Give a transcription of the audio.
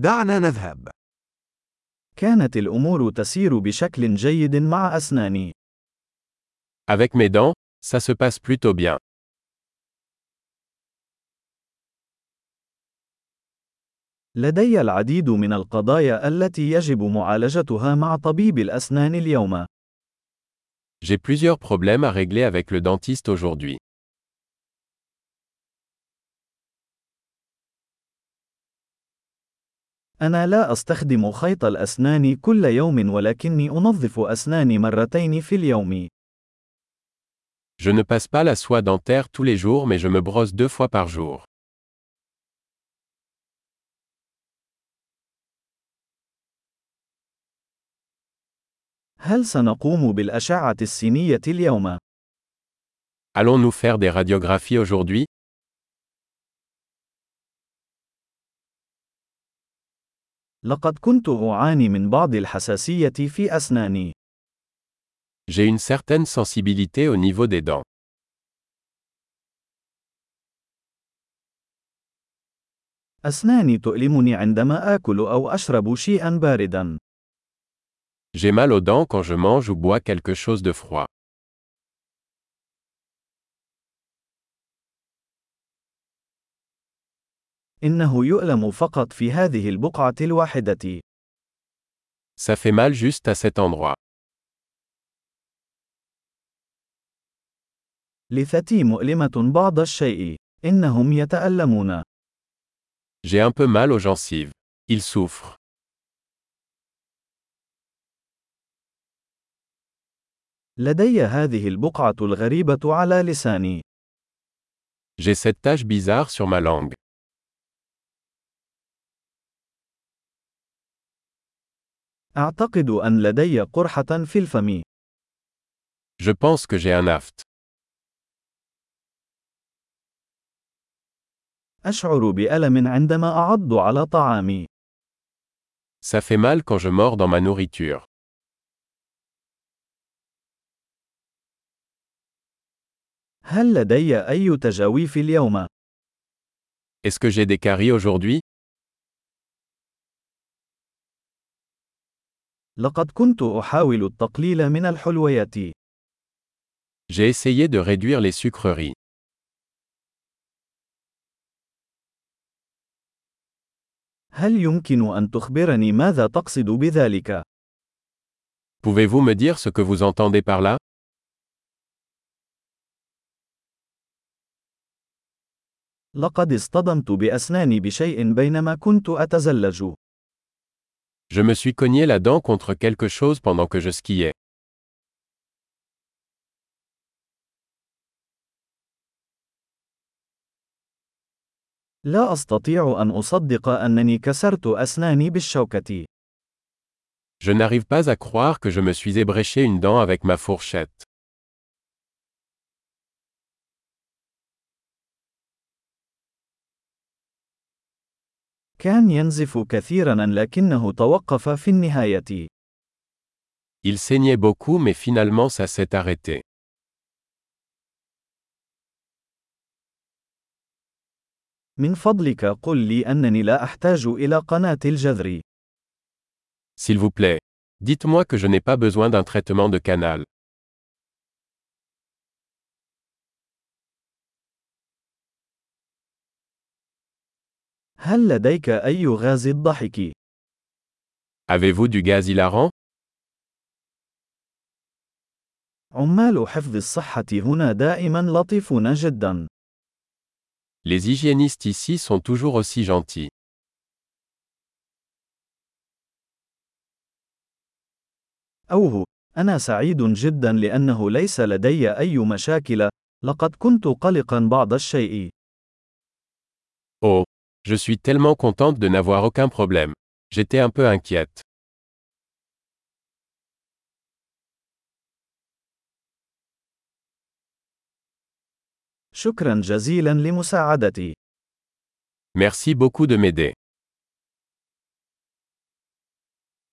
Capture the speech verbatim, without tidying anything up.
دعنا نذهب. كانت الأمور تسير بشكل جيد مع أسناني. Avec mes dents, ça se passe plutôt bien. لدي العديد من القضايا التي يجب معالجتها مع طبيب الأسنان اليوم. J'ai plusieurs problèmes à régler avec le dentiste aujourd'hui. أنا لا أستخدم خيط الأسنان كل يوم ولكني أنظف أسناني مرتين في اليوم. Je ne passe pas la soie dentaire tous les jours mais je me brosse deux fois par jour. هل سنقوم بالأشعة السينية اليوم؟ Allons-nous faire des radiographies aujourd'hui? لقد كنت أعاني من بعض الحساسية في أسناني. J'ai une certaine sensibilité au niveau des dents. أسناني تؤلمني عندما آكل أو أشرب شيئا باردا. J'ai mal aux dents quand je mange ou bois quelque chose de froid. إنه يؤلم فقط في هذه البقعة الواحدة. Ça fait mal juste à cet endroit. لثتي مؤلمة بعض الشيء. إنهم يتألمون. J'ai un peu mal aux gencives. Ils souffrent. لدي هذه البقعة الغريبة على لساني. J'ai cette tache bizarre sur ma langue. أعتقد أن لدي قرحة في الفم. Je pense que j'ai un aphte. أشعر بألم عندما أعض على طعامي. Ça fait mal quand je mords dans ma nourriture. هل لدي أي تجاويف اليوم؟ Est-ce que j'ai des caries aujourd'hui? لقد كنت أحاول التقليل من الحلويات. J'ai essayé de réduire les sucreries. هل يمكن أن تخبرني ماذا تقصد بذلك؟ Pouvez-vous me dire ce que vous entendez par là? لقد اصطدمت بأسناني بشيء بينما كنت أتزلج. Je me suis cogné la dent contre quelque chose pendant que je skiais. لا أستطيع أن أصدق أنني كسرت أسناني بالشوكة. Je n'arrive pas à croire que je me suis ébréché une dent avec ma fourchette. كان ينزف كثيرا لكنه توقف في النهاية. Il saignait beaucoup mais finalement ça s'est arrêté. من فضلك قل لي أنني لا أحتاج إلى قناة الجذر. S'il vous plaît. Dites-moi que je n'ai pas besoin d'un traitement de canal. هل لديك أي غاز الضحك؟ Avez-vous du gaz hilarant? عمال حفظ الصحة هنا دائما لطيفون جدا. Les hygiénistes ici sont toujours aussi gentils. أوه، أنا سعيد جدا لأنه ليس لدي أي مشاكل. لقد كنت قلقا بعض الشيء. Oh, je suis tellement contente de n'avoir aucun problème. J'étais un peu inquiète. شكرا جزيلا لمساعدتي. Merci beaucoup de m'aider.